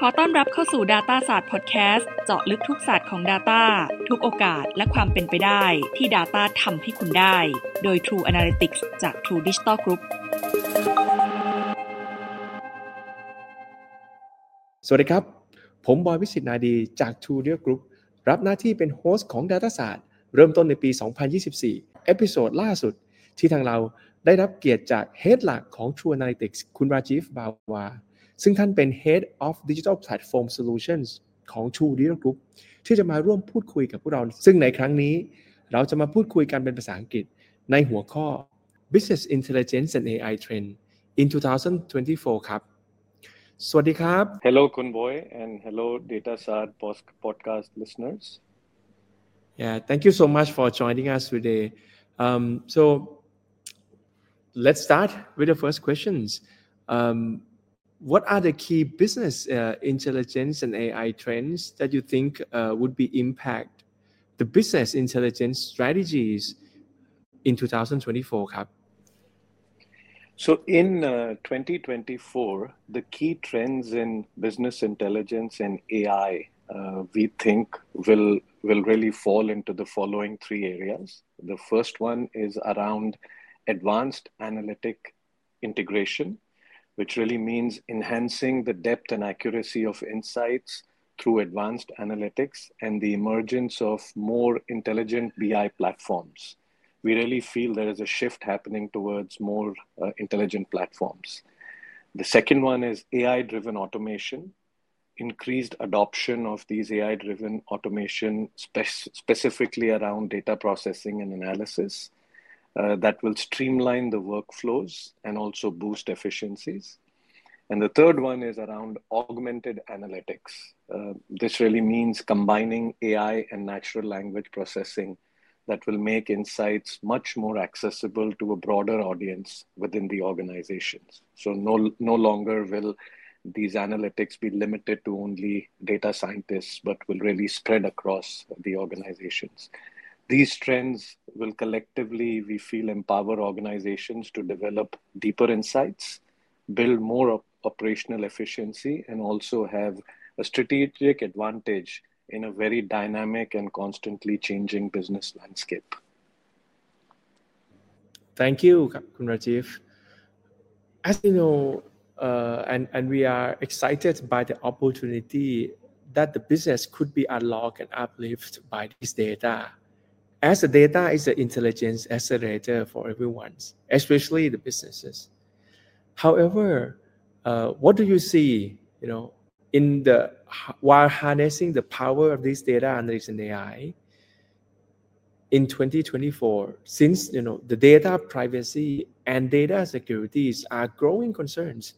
อต้อนรับเข้าสู่ Data ศาสตร์ Podcast เจาะลึกทุกศาสตร์ของ Data ทุกโอกาสและความเป็นไปได้ที่ Data ทำให้คุณได้โดย True Analytics จาก True Digital Group สวัสดีครับผมบอยวิสิตนาดีจาก True Digital Group รับหน้าที่เป็นโฮสต์ของ Data ศาสตร์เริ่มต้นในปี 2024 เอพิโซดล่าสุดที่ทางเราได้รับเกียรติจาก Head หลักของ True Analytics คุณราจีฟบาวาซึ่งท่านเป็น Head of Digital Platform Solutions ของ True Digital Group ที่จะมาร่วมพูดคุยกับพวกเราซึ่งในครั้งนี้เราจะมาพูดคุยกันเป็นภาษาอังกฤษในหัวข้อ Business Intelligence and AI Trend in 2024 ครับสวัสดีครับ Hello Kunboy and hello DataSat podcast listeners. Yeah, thank you so much for joining us today. So let's start with the first questions. What are the key business intelligence and AI trends that you think would be impact the business intelligence strategies in 2024 ครับ? So in 2024, the key trends in business intelligence and AI we think will really fall into the following three areas. The first one is around advanced analytic integration, which really means enhancing the depth and accuracy of insights through advanced analytics and the emergence of more intelligent BI platforms. We really feel there is a shift happening towards more intelligent platforms. The second one is AI-driven automation, increased adoption of these AI-driven automation, specifically around data processing and analysis, that will streamline the workflows and also boost efficiencies. And the third one is around augmented analytics. This really means combining AI and natural language processing that will make insights much more accessible to a broader audience within the organizations. So no longer will these analytics be limited to only data scientists, but will really spread across the organizations. These trends will collectively, we feel, empower organizations to develop deeper insights, build more operational efficiency, and also have a strategic advantage in a very dynamic and constantly changing business landscape. Thank you, Kun Rajiv. As you know, and we are excited by the opportunity that the business could be unlocked and uplifted by this data. As the data is an intelligence accelerator for everyone, especially the businesses. However, what do you see, while harnessing the power of this data analytics and AI in 2024, since the data privacy and data securities are growing concerns,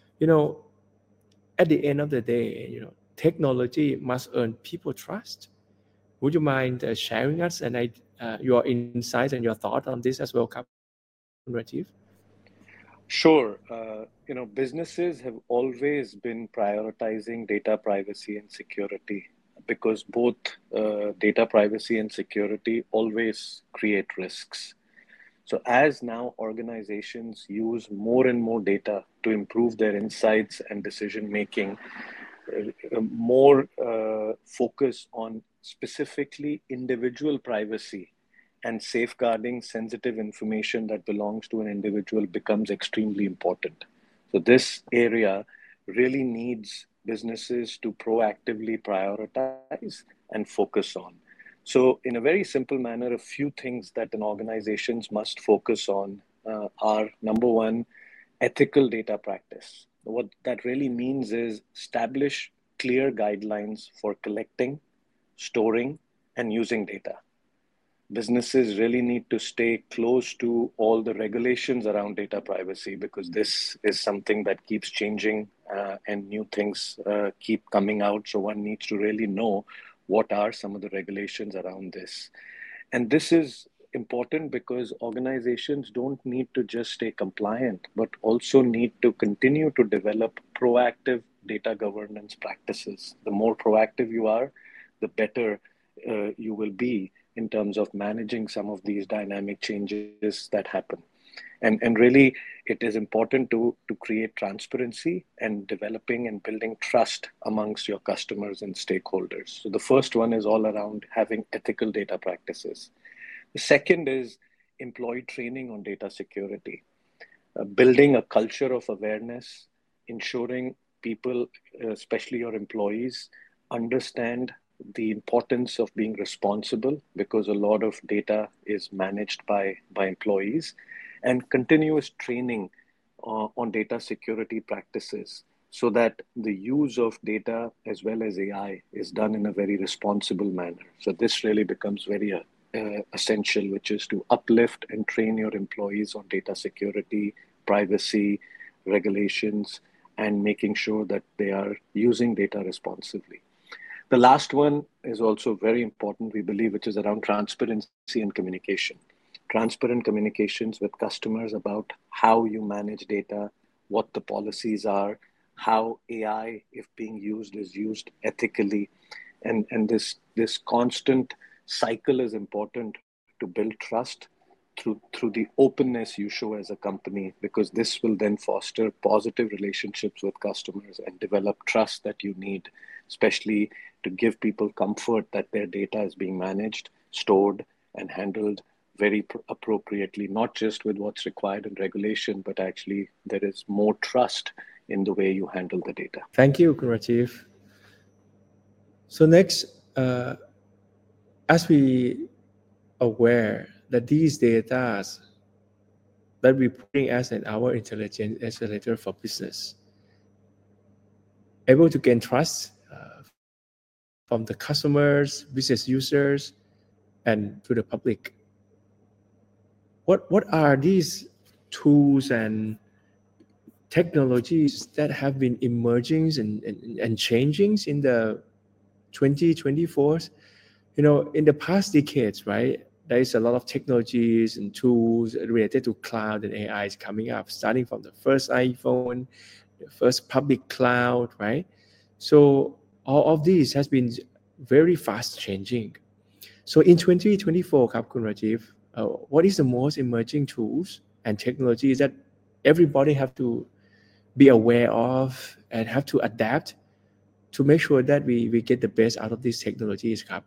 at the end of the day, technology must earn people trust. Would you mind sharing us and your insights and your thought on this as well, Rajiv? Sure. Businesses have always been prioritizing data privacy and security because both data privacy and security always create risks. So as now organizations use more and more data to improve their insights and decision making, more focus on specifically individual privacy and safeguarding sensitive information that belongs to an individual becomes extremely important. So this area really needs businesses to proactively prioritize and focus on. So in a very simple manner, a few things that an organizations must focus on are, number one, ethical data practice. What that really means is establish clear guidelines for collecting, storing, and using data. Businesses really need to stay close to all the regulations around data privacy because this is something that keeps changing and new things keep coming out. So one needs to really know what are some of the regulations around this. And this is important because organizations don't need to just stay compliant, but also need to continue to develop proactive data governance practices. The more proactive you are, the better you will be in terms of managing some of these dynamic changes that happen. And really, it is important to create transparency and developing and building trust amongst your customers and stakeholders. So the first one is all around having ethical data practices. The second is employee training on data security, building a culture of awareness, ensuring people, especially your employees, understand the importance of being responsible, because a lot of data is managed by employees, and continuous training on data security practices, so that the use of data as well as AI is done in a very responsible manner. So this really becomes very essential, which is to uplift and train your employees on data security, privacy, regulations, and making sure that they are using data responsibly. The last one is also very important, we believe, which is around transparency and communication. Transparent communications with customers about how you manage data, what the policies are, how AI, if being used, is used ethically. And this constant cycle is important to build trust through the openness you show as a company, because this will then foster positive relationships with customers and develop trust that you need, especially to give people comfort that their data is being managed, stored, and handled very appropriately, not just with what's required in regulation, but actually there is more trust in the way you handle the data. Thank you, Rajiv. So next, as we aware that these data that we're putting as an our intelligence accelerator for business, able to gain trust from the customers, business users, and to the public. What are these tools and technologies that have been emerging and changing in the 2024? In the past decades, right, there is a lot of technologies and tools related to cloud and AI is coming up, starting from the first iPhone, the first public cloud, right? So all of these has been very fast changing. So in 2024, Khun Rajiv, what is the most emerging tools and technologies that everybody have to be aware of and have to adapt to make sure that we get the best out of these technologies, Khun?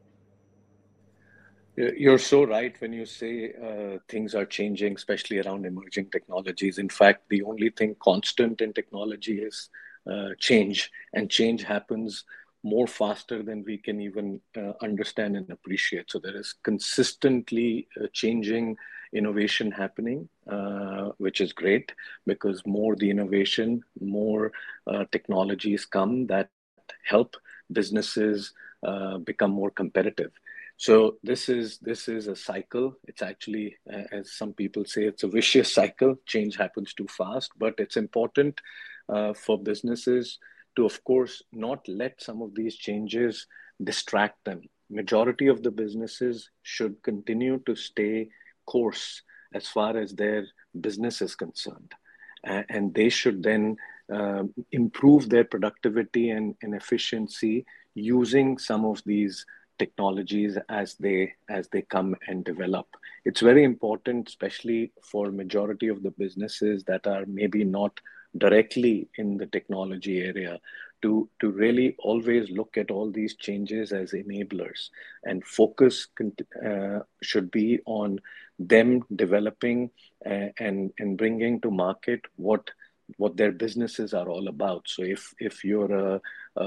You're so right when you say things are changing, especially around emerging technologies. In fact, the only thing constant in technology is change, and change happens more faster than we can even understand and appreciate. So there is consistently changing innovation happening, which is great, because more the innovation, more technologies come that help businesses become more competitive. So this is a cycle. It's actually, as some people say, it's a vicious cycle. Change happens too fast, but it's important for businesses to, of course, not let some of these changes distract them. Majority of the businesses should continue to stay course as far as their business is concerned. And they should then improve their productivity and efficiency using some of these technologies as they come and develop. It's very important, especially for majority of the businesses that are maybe not directly in the technology area, to really always look at all these changes as enablers, and focus should be on them developing and bringing to market what their businesses are all about. So if you're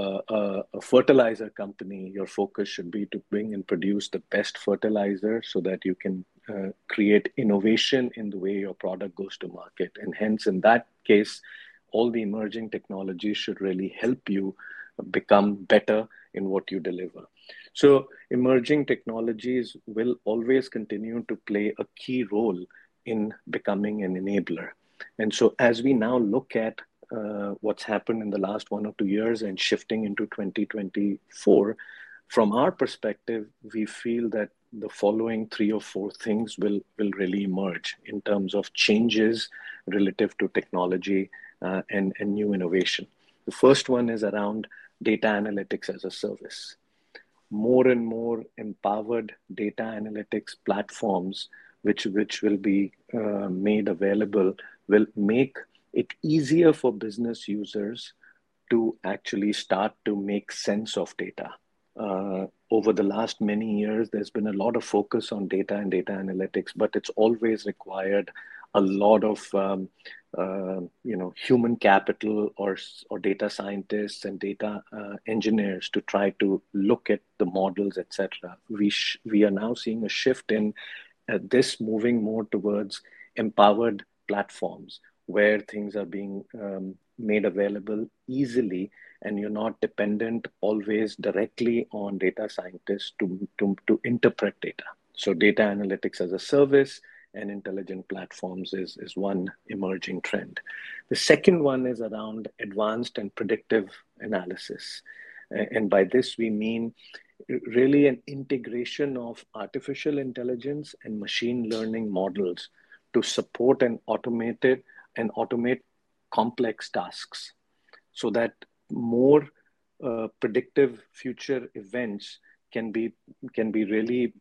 a fertilizer company, your focus should be to bring and produce the best fertilizer so that you can create innovation in the way your product goes to market. And hence, in that case, all the emerging technologies should really help you become better in what you deliver. So emerging technologies will always continue to play a key role in becoming an enabler. And so as we now look at what's happened in the last 1 or 2 years and shifting into 2024, from our perspective, we feel that the following 3 or 4 things will really emerge in terms of changes relative to technology and new innovation. The first one is around data analytics as a service. More and more empowered data analytics platforms which will be made available will make it easier for business users to actually start to make sense of data. Over the last many years, there's been a lot of focus on data and data analytics, but it's always required a lot of human capital or data scientists and data engineers to try to look at the models, etc. We are now seeing a shift in this moving more towards empowered platforms where things are being made available easily, and you're not dependent always directly on data scientists to interpret data. So data analytics as a service and intelligent platforms is one emerging trend. The second one is around advanced and predictive analysis. And by this, we mean really an integration of artificial intelligence and machine learning models to support and automate complex tasks so that more predictive future events can be really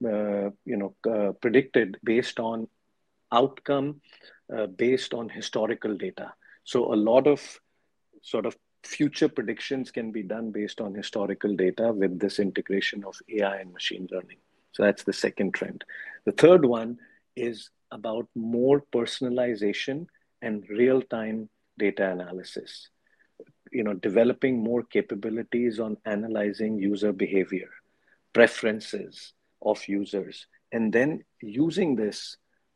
predicted based on outcome based on historical data. So a lot of sort of future predictions can be done based on historical data with this integration of AI and machine learning. So that's the second trend. The third one is about more personalization and real-time data analysis. Developing more capabilities on analyzing user behavior, preferences of users, and then using this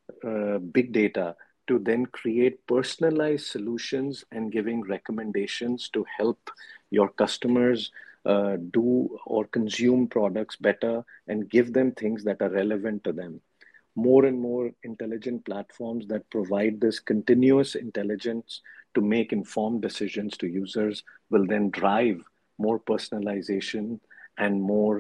big data to then create personalized solutions and giving recommendations to help your customers do or consume products better and give them things that are relevant to them. More and more intelligent platforms that provide this continuous intelligence to make informed decisions to users will then drive more personalization and more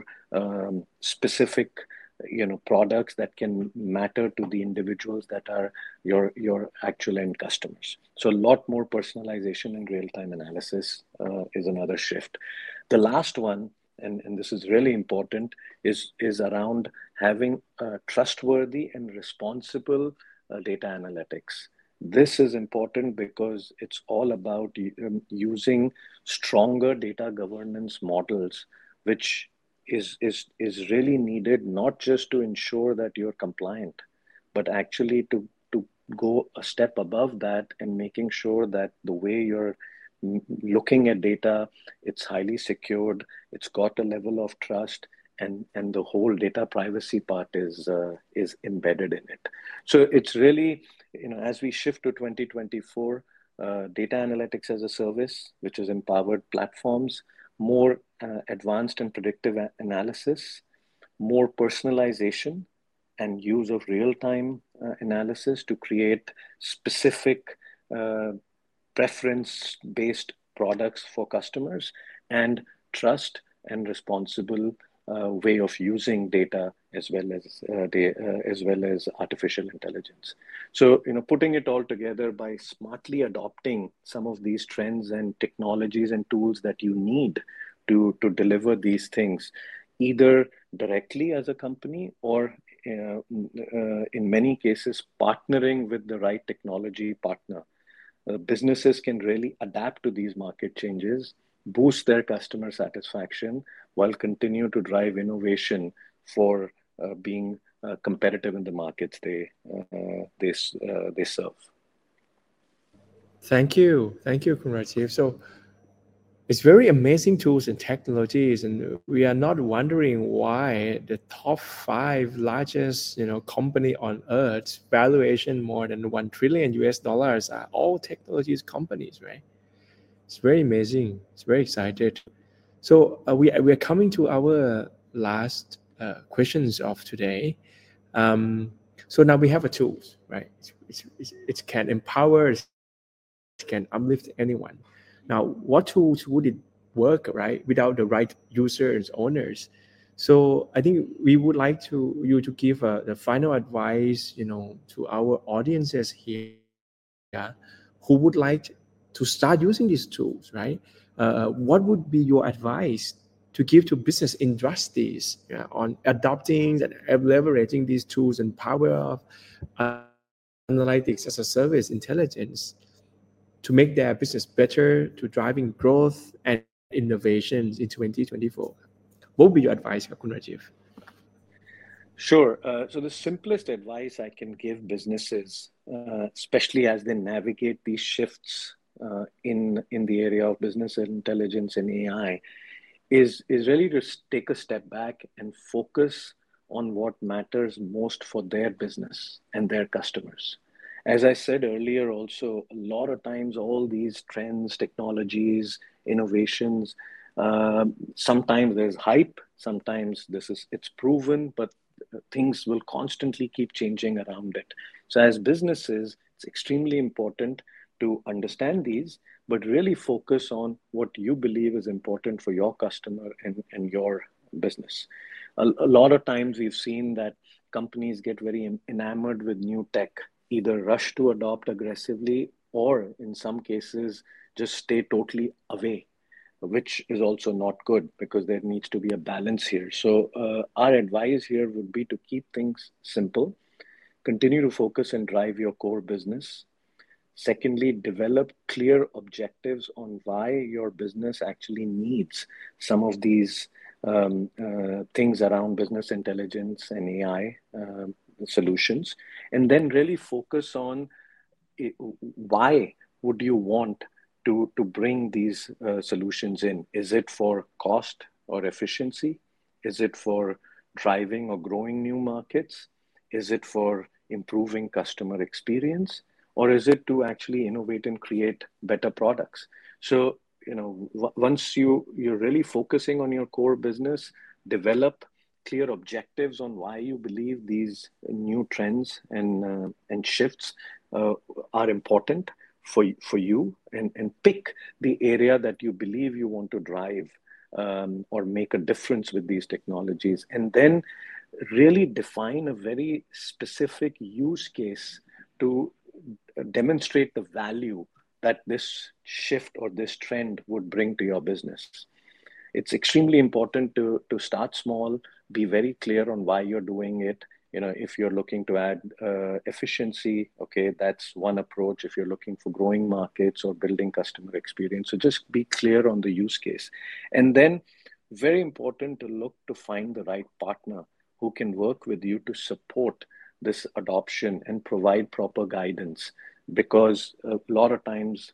specific products that can matter to the individuals that are your actual end customers. So a lot more personalization and real-time analysis is another shift. The last one, and this is really important, is around having trustworthy and responsible data analytics. This is important because it's all about using stronger data governance models, which is really needed not just to ensure that you're compliant, but actually to go a step above that and making sure that the way you're looking at data, it's highly secured, it's got a level of trust, and the whole data privacy part is embedded in it. So it's really, as we shift to 2024, data analytics as a service, which is empowered platforms, more advanced and predictive analysis, more personalization and use of real-time analysis to create specific preference-based products for customers, and trust and responsible way of using data as well as artificial intelligence. So, putting it all together by smartly adopting some of these trends and technologies and tools that you need to deliver these things, either directly as a company or in many cases partnering with the right technology partner. Businesses can really adapt to these market changes, boost their customer satisfaction, while continue to drive innovation for being competitive in the markets they serve. Thank you, Khun Rajiv. So it's very amazing tools and technologies, and we are not wondering why the top 5 largest, company on earth, valuation more than $1 trillion are all technologies companies, right? It's very amazing. It's very excited. So we are coming to our last questions of today. So now we have a tools, right? It can empower, it can uplift anyone. Now, what tools would it work, right, without the right users, owners? So I think we would like you to give the final advice, to our audiences here, who would like to start using these tools, right? What would be your advice to give to business industries on adopting and leveraging these tools and power of analytics as a service intelligence to make their business better, to driving growth and innovations in 2024? What would be your advice, Kun Rajiv? Sure. So the simplest advice I can give businesses, especially as they navigate these shifts in the area of business intelligence and AI, is really to take a step back and focus on what matters most for their business and their customers. As I said earlier, also, a lot of times all these trends, technologies, innovations, sometimes there's hype, sometimes it's proven, but things will constantly keep changing around it. So as businesses, it's extremely important to understand these, but really focus on what you believe is important for your customer and your business. A lot of times we've seen that companies get very enamored with new tech, either rush to adopt aggressively or in some cases just stay totally away, which is also not good because there needs to be a balance here. So our advice here would be to keep things simple, continue to focus and drive your core business. Secondly, develop clear objectives on why your business actually needs some of these things around business intelligence and AI solutions. And then really focus on why would you want to bring these solutions in? Is it for cost or efficiency? Is it for driving or growing new markets? Is it for improving customer experience? Or is it to actually innovate and create better products? So, once you're really focusing on your core business, develop clear objectives on why you believe these new trends and shifts are important for you, and pick the area that you believe you want to drive or make a difference with these technologies, and then really define a very specific use case to demonstrate the value that this shift or this trend would bring to your business. It's extremely important to start small, be very clear on why you're doing it. If you're looking to add efficiency, okay, that's one approach. If you're looking for growing markets or building customer experience, so just be clear on the use case. And then very important to look to find the right partner who can work with you to support this adoption and provide proper guidance, because a lot of times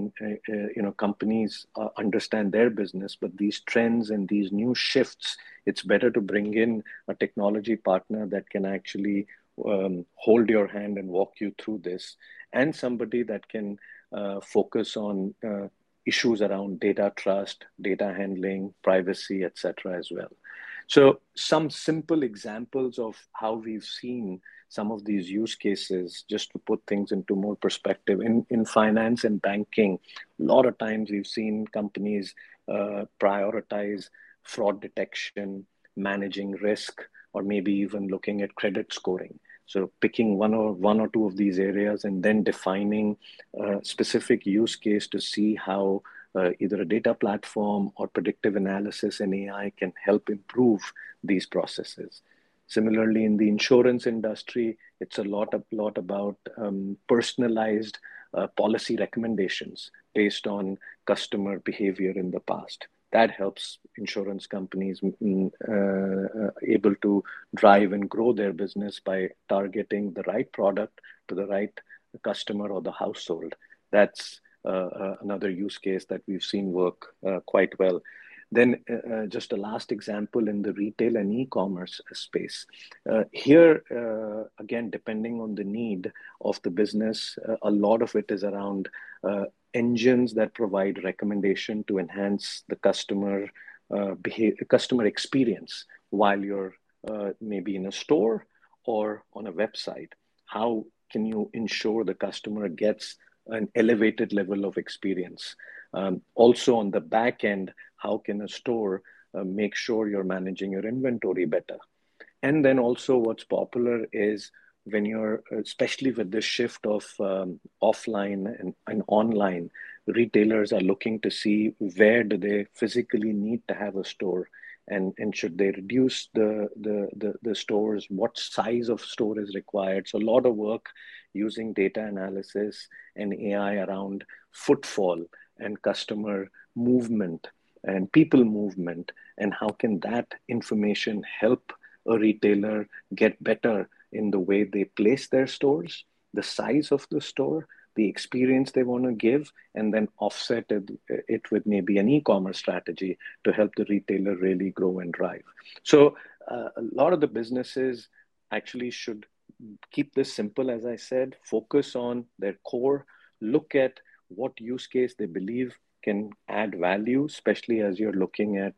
companies understand their business, but these trends and these new shifts, it's better to bring in a technology partner that can actually hold your hand and walk you through this, and somebody that can focus on issues around data trust, data handling, privacy, etc. as well. So some simple examples of how we've seen some of these use cases, just to put things into more perspective. In finance and banking, a lot of times we've seen companies prioritize fraud detection, managing risk, or maybe even looking at credit scoring. So picking one or two of these areas and then defining a specific use case to see how either a data platform or predictive analysis and AI can help improve these processes. Similarly, in the insurance industry, it's a lot about personalized policy recommendations based on customer behavior in the past. That helps insurance companies able to drive and grow their business by targeting the right product to the right customer or the household. That's another use case that we've seen work quite well. Then just a last example in the retail and e-commerce space. Here, again, depending on the need of the business, a lot of it is around engines that provide recommendation to enhance the customer experience while you're maybe in a store or on a website. How can you ensure the customer gets an elevated level of experience? Also on the back end, how can a store make sure you're managing your inventory better? And then also what's popular is when you're, especially with the shift of offline and online, retailers are looking to see where do they physically need to have a store, and should they reduce the stores, what size of store is required. So a lot of work using data analysis and AI around footfall and customer movement and people movement, and how can that information help a retailer get better in the way they place their stores, the size of the store, the experience they want to give, and then offset it with maybe an e-commerce strategy to help the retailer really grow and drive. So a lot of the businesses actually should keep this simple, as I said, focus on their core, look at what use case they believe can add value, especially as you're looking at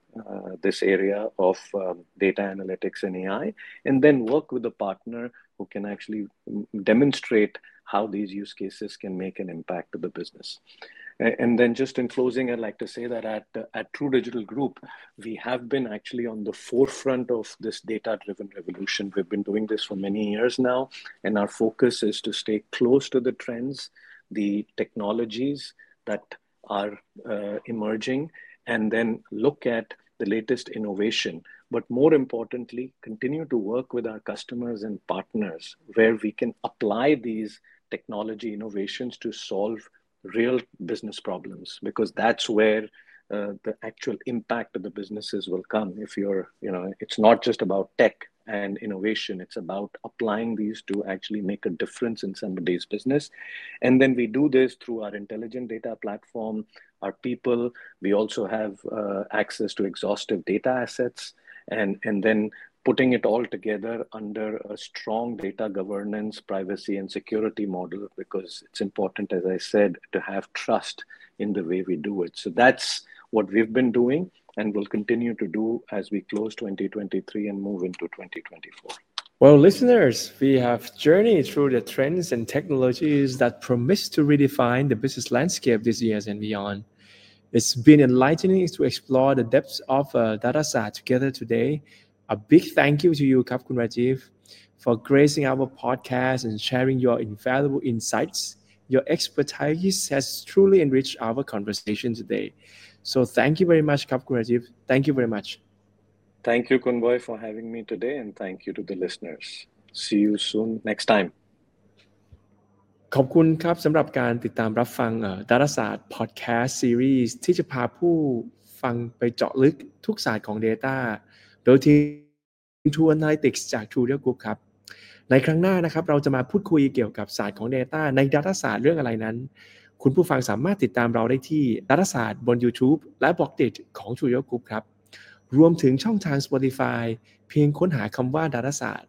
this area of data analytics and AI, and then work with a partner who can actually demonstrate how these use cases can make an impact to the business. And then just in closing, I'd like to say that at True Digital Group, we have been actually on the forefront of this data-driven revolution. We've been doing this for many years now, and our focus is to stay close to the trends, the technologies that are emerging, and then look at the latest innovation. But more importantly, continue to work with our customers and partners where we can apply these technology innovations to solve real business problems, because that's where the actual impact of the businesses will come. If you're, it's not just about tech and innovation, it's about applying these to actually make a difference in somebody's business. And then we do this through our intelligent data platform, our people. We also have access to exhaustive data assets, and then putting it all together under a strong data governance, privacy, and security model, because it's important, as I said, to have trust in the way we do it. So that's what we've been doing and will continue to do as we close 2023 and move into 2024. Well, listeners, we have journeyed through the trends and technologies that promise to redefine the business landscape this year and beyond. It's been enlightening to explore the depths of DataSat together today. A big thank you to you, Kap Kun Rajiv, for gracing our podcast and sharing your invaluable insights. Your expertise has truly enriched our conversation today. So thank you very much, Kap Kun Rajiv. Thank you very much. Thank you, Kunboy, for having me today, and thank you to the listeners. See you soon next time. ขอบคุณครับสำหรับการติดตามรับฟังDataSat Podcast Series ที่จะพาผู้ฟังไปเจาะลึกทุกศาสตร์ของ Data โดยทีม True Analytics จาก True Digital Group ครับในครั้งหน้านะครับเราจะมาพูดคุยเกี่ยวกับศาสตร์ของ Data ใน DataSat เรื่องอะไรนั้นคุณผู้ฟังสามารถติดตามเราได้ที่ DataSat บน YouTube และ Blockdit ของ True Digital Group ครับรวมถึงช่องทาง Spotify เพียงค้นหาคำว่า DataSat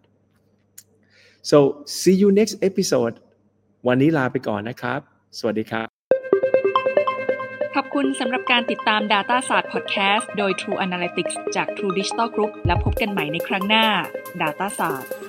So see you next episode วันนี้ลาไปก่อนนะครับสวัสดีครับขอบคุณสำหรับการติดตาม DataSat Podcast โดย True Analytics จาก True Digital Group และพบกันใหม่ในครั้งหน้า DataSat